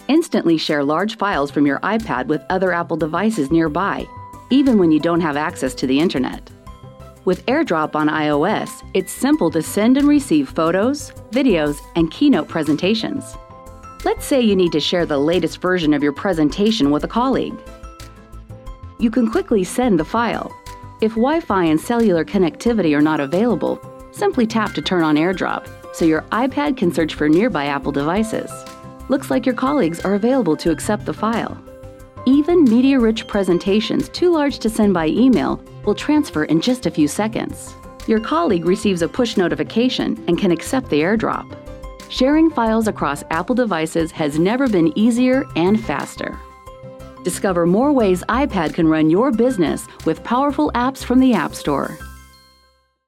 Instantly share large files from your iPad with other Apple devices nearby, even when you don't have access to the internet. With AirDrop on iOS, it's simple to send and receive photos, videos, and keynote presentations. Let's say you need to share the latest version of your presentation with a colleague. You can quickly send the file. If Wi-Fi and cellular connectivity are not available, simply tap to turn on AirDrop so your iPad can search for nearby Apple devices. Looks like your colleagues are available to accept the file. Even media-rich presentations too large to send by email will transfer in just a few seconds. Your colleague receives a push notification and can accept the AirDrop. Sharing files across Apple devices has never been easier and faster. Discover more ways iPad can run your business with powerful apps from the App Store.